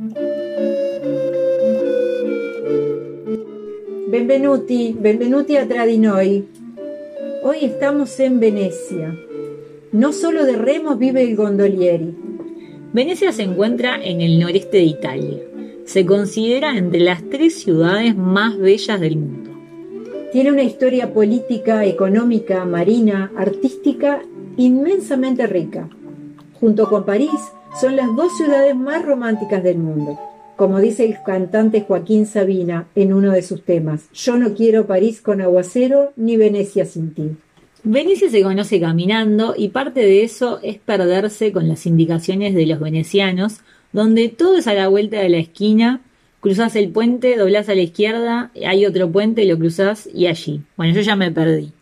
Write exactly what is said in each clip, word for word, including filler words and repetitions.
Benvenuti, benvenuti a Tradinoi. Hoy estamos en Venecia. No solo de remos vive il gondolieri. Venecia se encuentra en el noreste de Italia. Se considera entre las tres ciudades más bellas del mundo. Tiene una historia política, económica, marina, artística inmensamente rica. Junto con París, son las dos ciudades más románticas del mundo. Como dice el cantante Joaquín Sabina en uno de sus temas, yo no quiero París con aguacero ni Venecia sin ti. Venecia se conoce caminando y parte de eso es perderse con las indicaciones de los venecianos, donde todo es a la vuelta de la esquina, cruzás el puente, doblás a la izquierda, hay otro puente, lo cruzás y allí. Bueno, yo ya me perdí.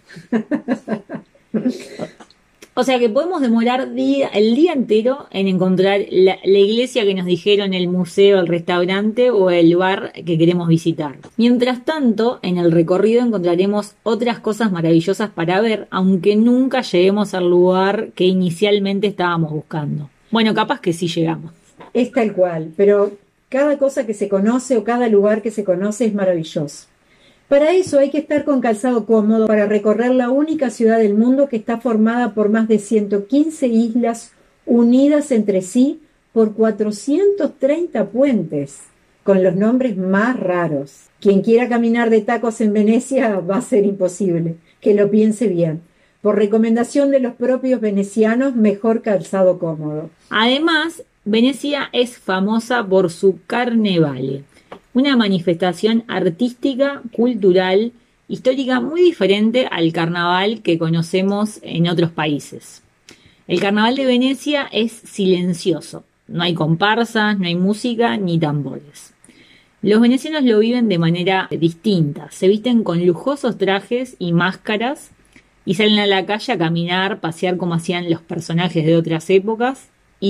O sea que podemos demorar día, el día entero en encontrar la, la iglesia que nos dijeron, el museo, el restaurante o el bar que queremos visitar. Mientras tanto, en el recorrido encontraremos otras cosas maravillosas para ver, aunque nunca lleguemos al lugar que inicialmente estábamos buscando. Bueno, capaz que sí llegamos. Es tal cual, pero cada cosa que se conoce o cada lugar que se conoce es maravilloso. Para eso hay que estar con calzado cómodo para recorrer la única ciudad del mundo que está formada por más de ciento quince islas unidas entre sí por cuatrocientos treinta puentes, con los nombres más raros. Quien quiera caminar de tacos en Venecia va a ser imposible, que lo piense bien. Por recomendación de los propios venecianos, mejor calzado cómodo. Además, Venecia es famosa por su Carnevale, una manifestación artística, cultural, histórica muy diferente al carnaval que conocemos en otros países. El carnaval de Venecia es silencioso, no hay comparsas, no hay música ni tambores. Los venecianos lo viven de manera distinta, se visten con lujosos trajes y máscaras y salen a la calle a caminar, pasear como hacían los personajes de otras épocas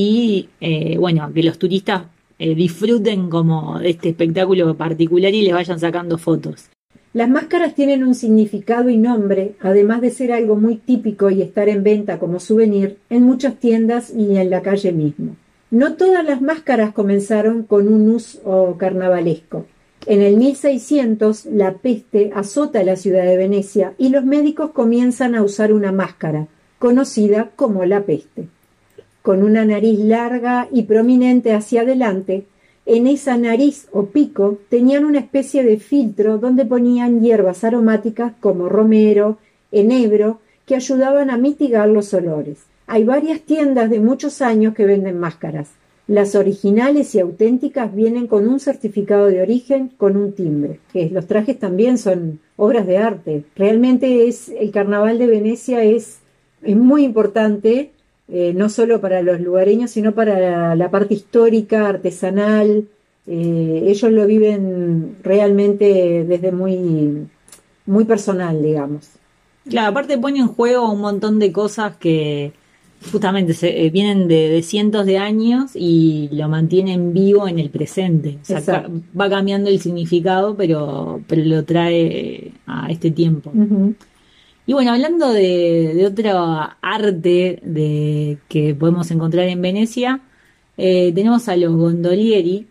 y, eh, bueno, que los turistas Eh, disfruten como de este espectáculo particular y les vayan sacando fotos. Las máscaras tienen un significado y nombre, además de ser algo muy típico y estar en venta como souvenir en muchas tiendas y en la calle mismo. No todas las máscaras comenzaron con un uso carnavalesco. En el mil seiscientos, la peste azota la ciudad de Venecia y los médicos comienzan a usar una máscara, conocida como la peste. Con una nariz larga y prominente hacia adelante, en esa nariz o pico tenían una especie de filtro donde ponían hierbas aromáticas como romero, enebro, que ayudaban a mitigar los olores. Hay varias tiendas de muchos años que venden máscaras. Las originales y auténticas vienen con un certificado de origen con un timbre. Que los trajes también son obras de arte. Realmente es, el Carnaval de Venecia es, es muy importante. Eh, no solo para los lugareños, sino para la, la parte histórica, artesanal. Eh, ellos lo viven realmente desde muy, muy personal, digamos. Claro, aparte pone en juego un montón de cosas que justamente se, eh, vienen de, de cientos de años y lo mantienen vivo en el presente. O sea, ca- va cambiando el significado, pero, pero lo trae a este tiempo. Uh-huh. Y bueno, hablando de, de otro arte de, que podemos encontrar en Venecia, eh, tenemos a los gondolieri,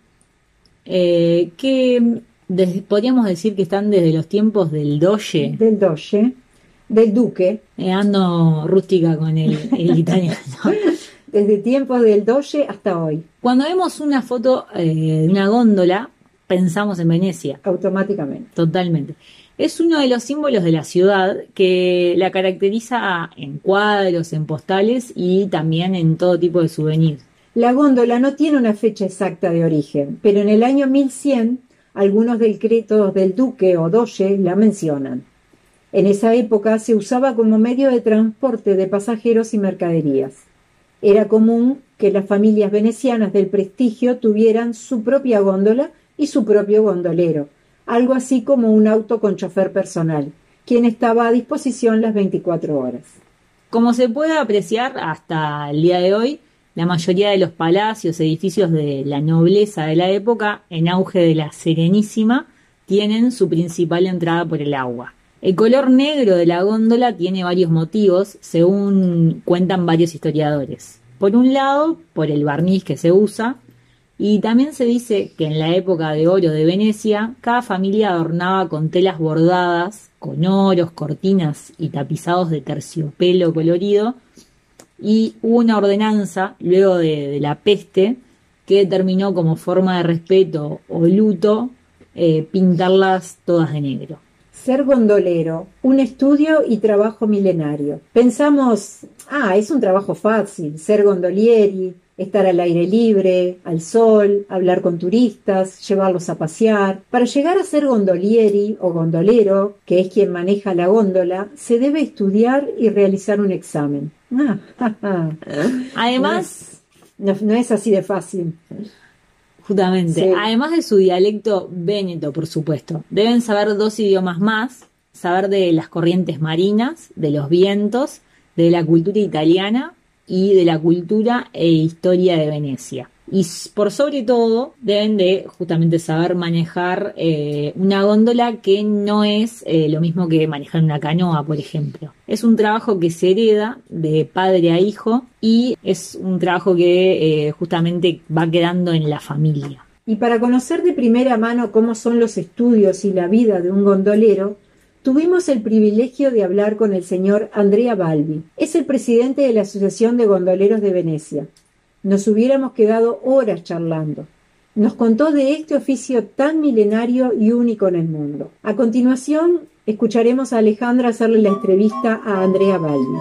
eh, que des, podríamos decir que están desde los tiempos del doge. Del doge, del duque. Eh, ando rústica con el, el italiano. Desde tiempos del doge hasta hoy. Cuando vemos una foto eh, de una góndola, pensamos en Venecia. Automáticamente. Totalmente. Es uno de los símbolos de la ciudad que la caracteriza en cuadros, en postales y también en todo tipo de souvenirs. La góndola no tiene una fecha exacta de origen, pero en el año mil cien algunos decretos del duque o doge la mencionan. En esa época se usaba como medio de transporte de pasajeros y mercaderías. Era común que las familias venecianas del prestigio tuvieran su propia góndola y su propio gondolero, algo así como un auto con chofer personal, quien estaba a disposición las veinticuatro horas. Como se puede apreciar hasta el día de hoy, la mayoría de los palacios, edificios de la nobleza de la época, en auge de la Serenísima, tienen su principal entrada por el agua. El color negro de la góndola tiene varios motivos, según cuentan varios historiadores. Por un lado, por el barniz que se usa, Y también se dice que en la época de oro de Venecia, cada familia adornaba con telas bordadas, con oros, cortinas y tapizados de terciopelo colorido, y hubo una ordenanza, luego de, de la peste, que determinó como forma de respeto o luto eh, pintarlas todas de negro. Ser gondolero, un estudio y trabajo milenario. Pensamos, ah, es un trabajo fácil, ser gondolieri, estar al aire libre, al sol, hablar con turistas, llevarlos a pasear. Para llegar a ser gondolieri o gondolero, que es quien maneja la góndola, se debe estudiar y realizar un examen. Ah, ja, ja. Además, no es, no, no es así de fácil. Justamente, Sí. Además de su dialecto véneto, por supuesto, deben saber dos idiomas más, saber de las corrientes marinas, de los vientos, de la cultura italiana y de la cultura e historia de Venecia. Y por sobre todo deben de justamente saber manejar eh, una góndola, que no es eh, lo mismo que manejar una canoa, por ejemplo. Es un trabajo que se hereda de padre a hijo y es un trabajo que eh, justamente va quedando en la familia. Y para conocer de primera mano cómo son los estudios y la vida de un gondolero, tuvimos el privilegio de hablar con el señor Andrea Balbi. Es el presidente de la Asociación de Gondoleros de Venecia. Nos hubiéramos quedado horas charlando. Nos contó de este oficio tan milenario y único en el mundo. A continuación, escucharemos a Alejandra hacerle la entrevista a Andrea Balbi.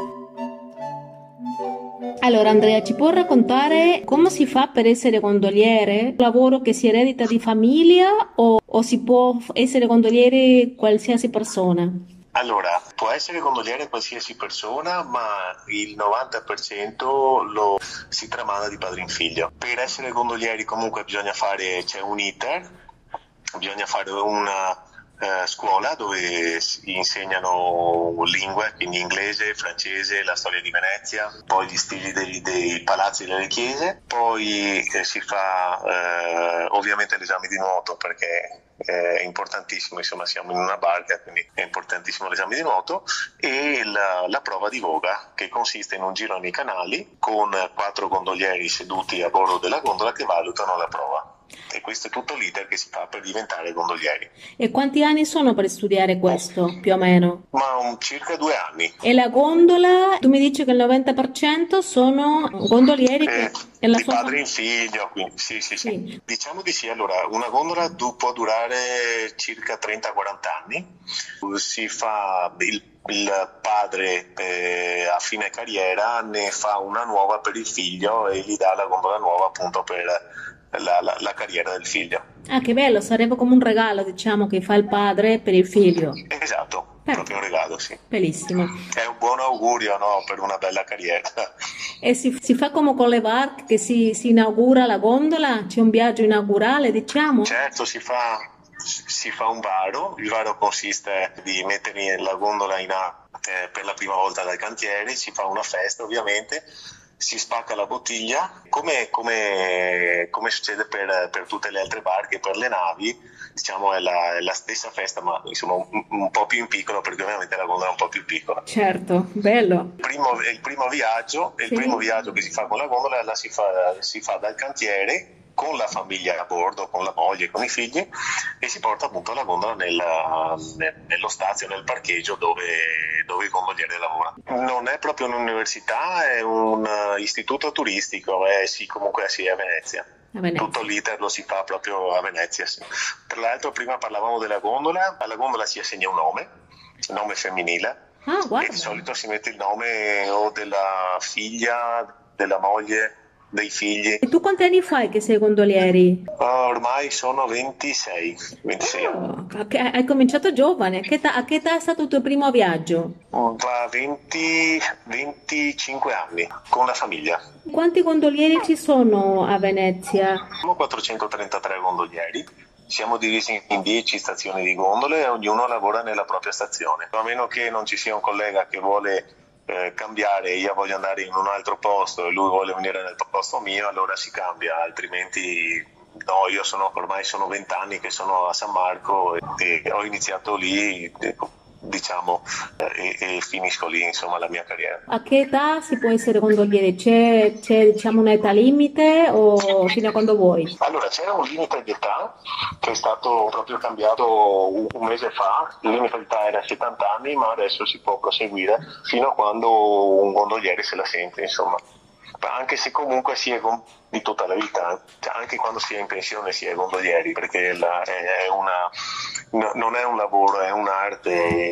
Allora Andrea, ci può raccontare come si fa per essere gondoliere? Un lavoro che si eredita di famiglia o, o si può essere gondoliere qualsiasi persona? Allora, può essere gondoliere qualsiasi persona, ma il novanta per cento lo si tramanda di padre in figlio. Per essere gondolieri comunque bisogna fare, c'è un iter, bisogna fare una eh, scuola dove si insegnano lingue, quindi inglese, francese, la storia di Venezia, poi gli stili dei, dei palazzi e delle chiese, poi eh, si fa eh, ovviamente l'esame di nuoto, perché è importantissimo, insomma siamo in una barca, quindi è importantissimo l'esame di nuoto, e la, la prova di voga, che consiste in un giro nei canali con quattro gondolieri seduti a bordo della gondola che valutano la prova. E questo è tutto l'iter che si fa per diventare gondolieri. E quanti anni sono per studiare questo, più o meno? Ma un, circa due anni. E la gondola, tu mi dici che il novanta per cento sono gondolieri che Eh, è la di sua padre fam- in figlio, quindi sì, sì, sì, Sì. Diciamo di sì. Allora, una gondola du- può durare circa trenta quaranta anni. Si fa il, il padre eh, a fine carriera ne fa una nuova per il figlio e gli dà la gondola nuova appunto per la, la, la carriera del figlio. Ah, che bello, sarebbe come un regalo, diciamo, che fa il padre per il figlio. Esatto, Beh. proprio un regalo, sì. Bellissimo. È un buon augurio, no, per una bella carriera. E si, si fa come con le barche, che si, si inaugura la gondola? C'è un viaggio inaugurale, diciamo? Certo, si fa, si fa un varo. Il varo consiste di mettere la gondola in a, eh, per la prima volta dal cantiere, si fa una festa ovviamente, si spacca la bottiglia, come, come, come succede per, per tutte le altre barche, per le navi, diciamo è la, è la stessa festa, ma insomma un, un po' più in piccolo, perché ovviamente la gondola è un po' più piccola. Certo, bello. Il primo, il primo viaggio, il Sì. primo viaggio che si fa con la gondola la si fa, si fa dal cantiere con la famiglia a bordo, con la moglie, con i figli, e si porta appunto la gondola nella, ne- nello stazio, nel parcheggio dove, dove il gondoliere lavora. Non è proprio un'università, è un eh, istituto turistico, eh, sì, comunque sì, è a Venezia. A Venezia. Tutto l'iter lo si fa proprio a Venezia, sì. Tra l'altro prima parlavamo della gondola, alla gondola si assegna un nome, nome femminile, Ah, e guarda. di solito si mette il nome o della figlia, della moglie, dei figli. E tu quanti anni fai che sei gondolieri? Ah, ormai sono ventisei, ventisei anni. Oh, a che- hai cominciato giovane. A che età, a che età è stato il tuo primo viaggio? Da venti, venticinque anni, con la famiglia. Quanti gondolieri ci sono a Venezia? Siamo quattrocentotrentatré gondolieri. Siamo divisi in dieci stazioni di gondole e ognuno lavora nella propria stazione. A meno che non ci sia un collega che vuole eh, cambiare, io voglio andare in un altro posto e lui vuole venire nel posto mio, allora si cambia, altrimenti no. Io sono ormai sono vent'anni che sono a San Marco e, e ho iniziato lì eh, diciamo, e, e finisco lì, insomma, la mia carriera. A che età si può essere gondoliere? C'è, c'è diciamo un'età limite o fino a quando vuoi? Allora, c'era un limite di età che è stato proprio cambiato un, un mese fa, il limite di età era settanta anni, ma adesso si può proseguire fino a quando un gondoliere se la sente, insomma. Anche se comunque si è con- di tutta la vita, cioè, anche quando si è in pensione si è gondolieri, perché la- è è una, no- non è un lavoro, è un'arte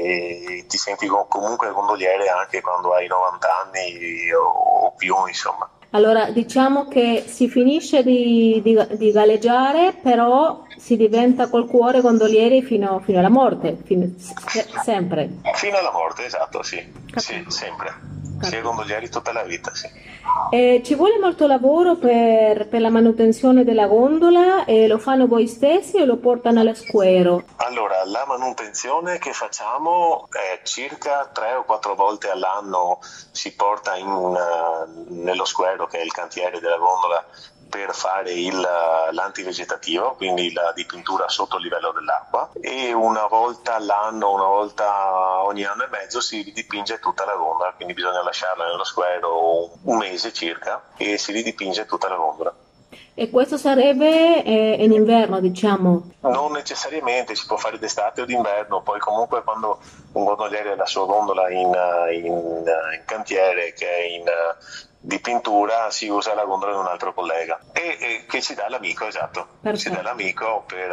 e ti senti co- comunque gondoliere anche quando hai novanta anni o, o più, insomma. Allora, diciamo che si finisce di, di, di galleggiare, però si diventa col cuore gondolieri fino, fino alla morte, fino- se- sempre. Fino alla morte, esatto, sì, sì, Capito. sempre. Si è Capito. gondolieri tutta la vita, sì. Eh, ci vuole molto lavoro per, per la manutenzione della gondola e lo fanno voi stessi o lo portano allo squero? Allora, la manutenzione che facciamo è circa tre o quattro volte all'anno si porta in, uh, nello squero, che è il cantiere della gondola, per fare il, uh, l'antivegetativo, quindi la dipintura sotto il livello dell'acqua, e una volta all'anno, una volta ogni anno e mezzo si ridipinge tutta la gondola, quindi bisogna lasciarla nello squero un mese circa e si ridipinge tutta la gondola. E questo sarebbe eh, in inverno, diciamo. Non necessariamente, si può fare d'estate o d'inverno, poi comunque quando un gondoliere ha la sua gondola in, in, in cantiere, che è in di pintura, si usa la gondola di un altro collega e, e che ci dà l'amico, esatto, Perfetto. ci dà l'amico per,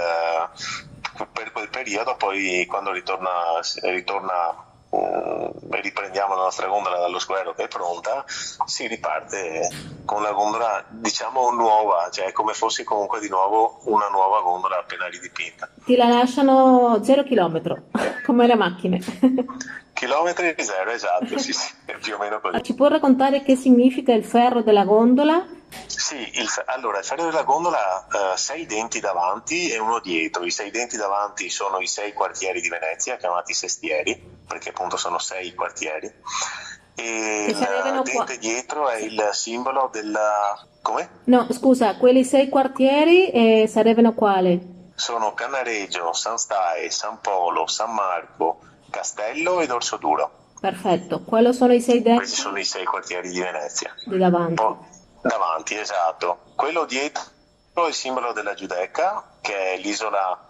uh, per quel periodo, poi quando ritorna, ritorna uh, riprendiamo la nostra gondola dallo squero che è pronta, si riparte con la gondola diciamo nuova, cioè come fosse comunque di nuovo una nuova gondola appena ridipinta. Ti la lasciano zero chilometro, come le macchine. Chilometri zero, esatto, sì, sì, più o meno così. Ci può raccontare che significa il ferro della gondola? Sì, il, allora il ferro della gondola ha uh, sei denti davanti e uno dietro. I sei denti davanti sono i sei quartieri di Venezia, chiamati sestieri, perché appunto sono sei quartieri. E il dente qua. Dietro è il simbolo della... come? No, scusa, quelli sei quartieri eh, sarebbero quali? Sono Cannareggio, San Stae, San Polo, San Marco, Castello ed Orsoduro. Perfetto, quello sono i sei denti? Questi sono i sei quartieri di Venezia. Di davanti. Poi, davanti, esatto. Quello dietro è il simbolo della Giudecca, che è l'isola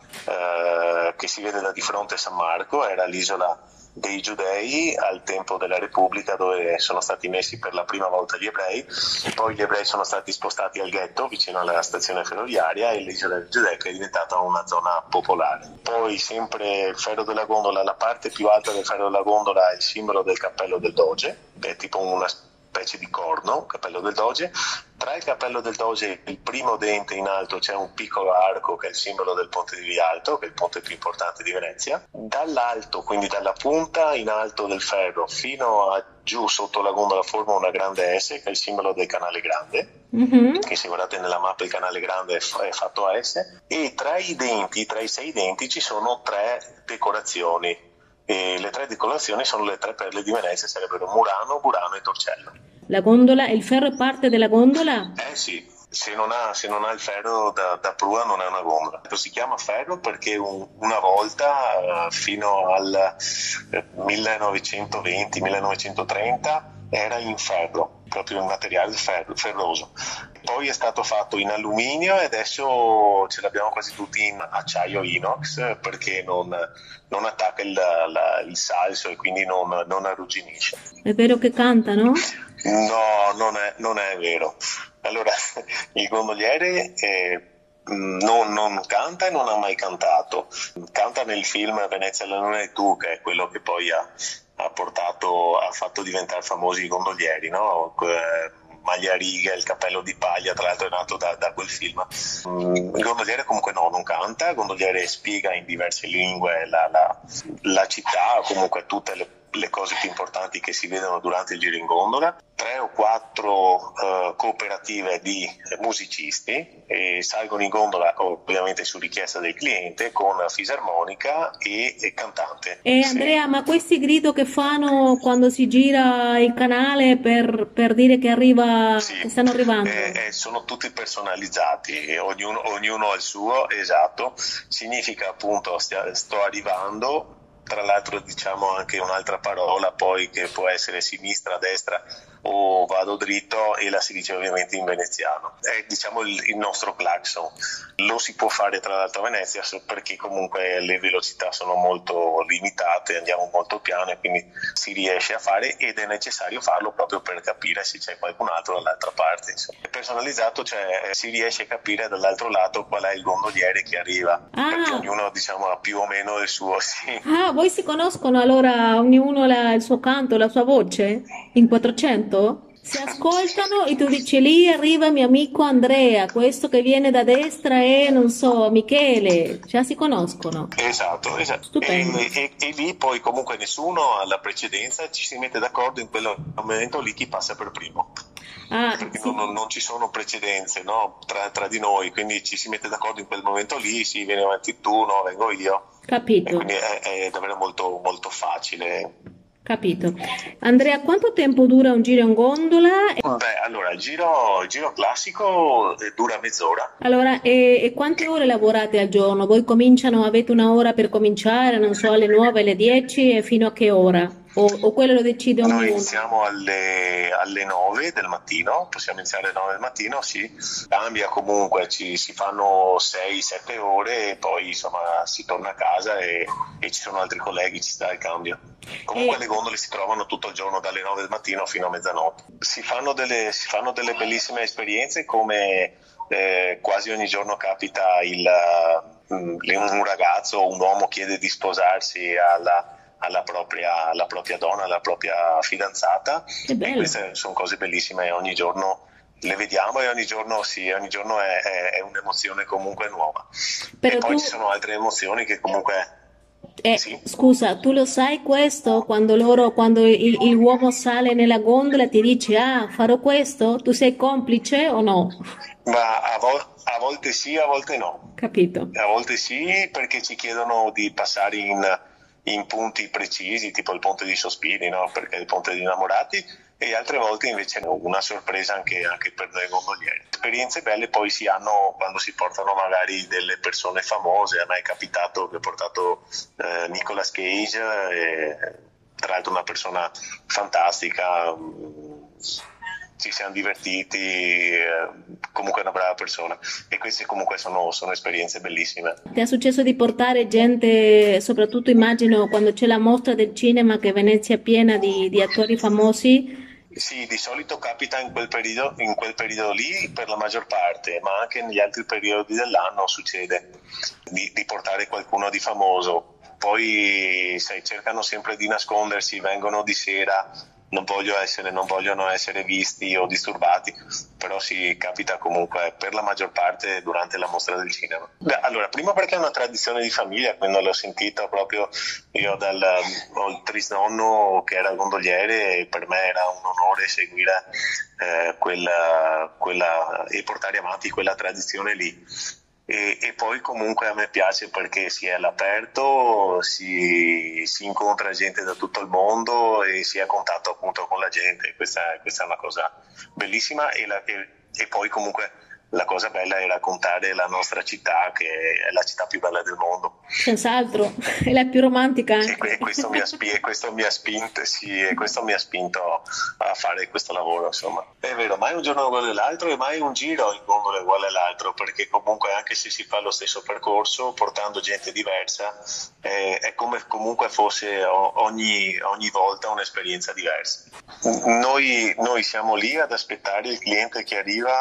eh, che si vede da di fronte a San Marco, era l'isola dei giudei al tempo della Repubblica, dove sono stati messi per la prima volta gli ebrei, poi gli ebrei sono stati spostati al ghetto vicino alla stazione ferroviaria e l'isola della Giudecca è diventata una zona popolare. Poi sempre il ferro della gondola, la parte più alta del ferro della gondola è il simbolo del cappello del Doge, è tipo una specie di corno, cappello del Doge. Tra il cappello del Doge e il primo dente in alto c'è un piccolo arco che è il simbolo del ponte di Rialto, che è il ponte più importante di Venezia. Dall'alto, quindi dalla punta in alto del ferro fino a giù sotto la gondola forma una grande S, che è il simbolo del canale grande, mm-hmm. che se guardate nella mappa il canale grande è fatto a S, e tra i denti, tra i sei denti ci sono tre decorazioni, e le tre decorazioni sono le tre perle di Venezia, sarebbero Murano, Burano e Torcello. La gondola, il ferro è parte della gondola? Eh sì, se non ha, se non ha il ferro da, da prua non è una gondola. Si chiama ferro perché un, una volta, fino al eh, millenovecentoventi millenovecentotrenta, era in ferro, proprio in materiale ferro, ferroso. Poi è stato fatto in alluminio e adesso ce l'abbiamo quasi tutti in acciaio inox, perché non, non attacca il, la, il salso e quindi non, non arrugginisce. È vero che canta, no? No, non è, non è vero. Allora, il gondoliere eh, non, non canta e non ha mai cantato. Canta nel film Venezia la luna e tu, che è quello che poi ha, ha portato, ha fatto diventare famosi i gondolieri, no? Eh, maglia a righe, il cappello di paglia, tra l'altro è nato da, da quel film. Mm, il gondoliere comunque no, non canta, il gondoliere spiega in diverse lingue la, la, la città, o comunque tutte le le cose più importanti che si vedono durante il giro in gondola, tre o quattro uh, cooperative di musicisti e salgono in gondola ovviamente su richiesta del cliente con fisarmonica e, e cantante. E Andrea, sì. Ma questi grido che fanno quando si gira il canale per, per dire che arriva, sì, che stanno arrivando? Eh, eh, sono tutti personalizzati, ognuno, ognuno ha il suo, esatto, significa appunto stia, sto arrivando. tra l'altro diciamo anche un'altra parola poi che può essere sinistra, destra o vado dritto, e la si dice ovviamente in veneziano. È diciamo il, il nostro clacson. Lo si può fare tra l'altro a Venezia perché comunque le velocità sono molto limitate, andiamo molto piano e quindi si riesce a fare, ed è necessario farlo proprio per capire se c'è qualcun altro dall'altra parte. Insomma. È personalizzato, cioè si riesce a capire dall'altro lato qual è il gondoliere che arriva, Ah. perché ognuno diciamo ha più o meno il suo, sì. Ah, voi si conoscono allora ognuno la- il suo canto, la sua voce in quattrocento? Si ascoltano e tu dici lì arriva mio amico Andrea, questo che viene da destra è, non so, Michele, già si conoscono. Esatto, esatto. Stupendo. E, e- e lì poi comunque nessuno ha la precedenza, ci si mette d'accordo in quel momento lì chi passa per primo. Ah, Perché sì. non, non ci sono precedenze, no? tra, tra di noi, quindi ci si mette d'accordo in quel momento lì, sì, vieni avanti tu, no, vengo io, e Capito, quindi è, è davvero molto, molto facile. capito. Andrea, quanto tempo dura un giro in gondola? Beh, allora, il giro, il giro classico eh, dura mezz'ora. Allora, e, e quante ore lavorate al giorno? Voi cominciano, avete una ora per cominciare, non so, alle nove, alle dieci e fino a che ora? O, o quello lo decide Noi ognuno? iniziamo alle, alle nove del mattino, possiamo iniziare alle nove del mattino, sì, cambia comunque, ci, si fanno sei sette ore e poi insomma si torna a casa e, e ci sono altri colleghi, ci sta il cambio. Comunque E- le gondole si trovano tutto il giorno dalle nove del mattino fino a mezzanotte. Si fanno delle, si fanno delle bellissime esperienze, come eh, quasi ogni giorno capita il, uh, un ragazzo o un uomo chiede di sposarsi alla alla propria, alla propria donna, alla propria fidanzata, Che e bello. queste sono cose bellissime e ogni giorno le vediamo e ogni giorno sì, ogni giorno è, è, è un'emozione comunque nuova. Però E poi tu, ci sono altre emozioni che comunque eh, sì. scusa, tu lo sai questo? Quando loro, quando il, il uomo sale nella gondola ti dice, ah, farò questo? Tu sei complice o no? Ma a, vol- a volte sì, a volte no. Capito. A volte sì, perché ci chiedono di passare in, in punti precisi, tipo il ponte di Sospiri, no? Perché è il ponte di innamorati, e altre volte invece no, una sorpresa anche, anche per noi gondolieri. Esperienze belle poi si hanno quando si portano magari delle persone famose. A me è capitato che ho portato eh, Nicolas Cage, eh, tra l'altro una persona fantastica, mh, ci siamo divertiti, eh, comunque è una brava persona, e queste comunque sono, sono esperienze bellissime. Ti è successo di portare gente, soprattutto immagino quando c'è la mostra del cinema che Venezia è piena di, di attori famosi? Sì, di solito capita in quel periodo, in quel periodo lì per la maggior parte, ma anche negli altri periodi dell'anno succede di, di portare qualcuno di famoso. Poi sai, cercano sempre di nascondersi, vengono di sera, non, voglio essere, non vogliono essere visti o disturbati, però sì, capita comunque per la maggior parte durante la mostra del cinema. Beh, allora, prima perché è una tradizione di famiglia, quando l'ho sentita proprio io dal ho il trisnonno che era gondoliere, e per me era un onore seguire eh, quella, quella e portare avanti quella tradizione lì. E, e poi comunque a me piace perché si è all'aperto, si, si incontra gente da tutto il mondo e si è a contatto appunto con la gente. Questa, questa è una cosa bellissima, e, la, e, e poi comunque la cosa bella è raccontare la nostra città, che è la città più bella del mondo. Senz'altro, è la più romantica E, anche. que- questo, mi ha spi- questo mi ha spinto, sì, e questo mi ha spinto a fare questo lavoro, insomma. È vero, mai un giorno uguale all'altro e mai un giro in gondola uguale all'altro, perché comunque anche se si fa lo stesso percorso, portando gente diversa, è, è come comunque fosse o- ogni, ogni volta un'esperienza diversa. Noi, noi siamo lì ad aspettare il cliente che arriva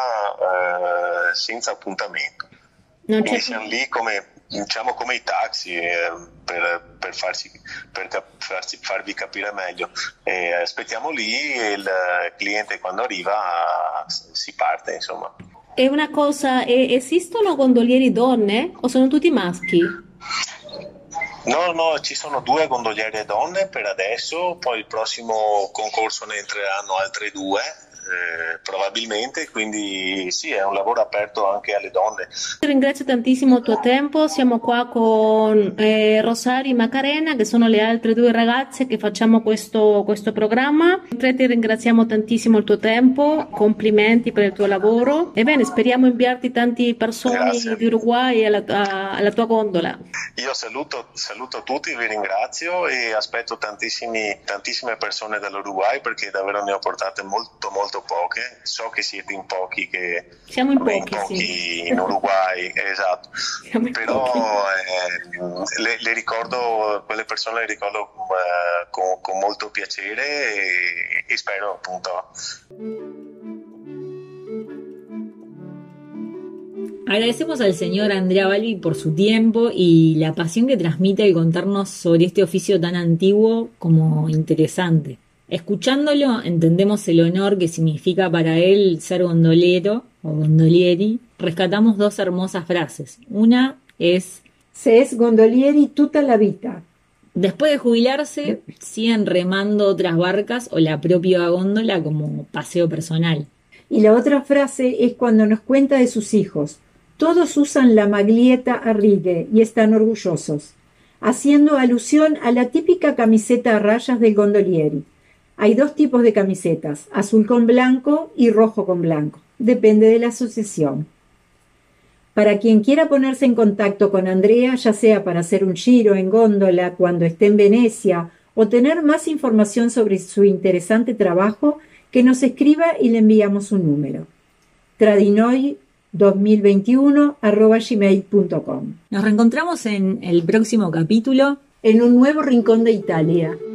eh, senza appuntamento. Non c'è Quindi siamo lì come, diciamo, come i taxi, eh, per, per, farci, per cap- farci- farvi capire meglio. E aspettiamo lì e il cliente quando arriva si parte, insomma. È una cosa, e- esistono gondolieri donne o sono tutti maschi? No, no, ci sono due gondoliere donne per adesso, poi il prossimo concorso ne entreranno altre due, eh, probabilmente, quindi sì, è un lavoro aperto anche alle donne. Ti ringrazio tantissimo il tuo tempo, siamo qua con eh, Rosario e Macarena, che sono le altre due ragazze che facciamo questo, questo programma. Tre, ti ringraziamo tantissimo il tuo tempo, complimenti per il tuo lavoro. Ebbene, speriamo inviarti tante persone Grazie. di Uruguay alla, a- alla tua gondola. Io saluto, saluto tutti, vi ringrazio e aspetto tantissimi, tantissime persone dall'Uruguay perché davvero ne ho portate molto molto poche. So che siete in pochi, che Siamo in vabbè, pochi, in, pochi sì. in Uruguay, esatto. Siamo in Però pochi. eh, le, le ricordo, quelle persone le ricordo eh, con, con molto piacere e, e spero appunto. Agradecemos al señor Andrea Balbi por su tiempo y la pasión que transmite al contarnos sobre este oficio tan antiguo como interesante. Escuchándolo, entendemos el honor que significa para él ser gondolero o gondolieri. Rescatamos dos hermosas frases. Una es: Se es gondolieri tutta la vita. después de jubilarse, siguen remando otras barcas o la propia góndola como paseo personal. Y la otra frase es cuando nos cuenta de sus hijos. Todos usan la maglietta a righe y están orgullosos, haciendo alusión a la típica camiseta a rayas del gondolieri. Hay dos tipos de camisetas, azul con blanco y rojo con blanco. Depende de la asociación. Para quien quiera ponerse en contacto con Andrea, ya sea para hacer un giro en góndola cuando esté en Venecia o tener más información sobre su interesante trabajo, que nos escriba y le enviamos un número. Tradinoi dos mil veintiuno arroba gmail punto com. Nos reencontramos en el próximo capítulo. En un nuevo rincón de Italia.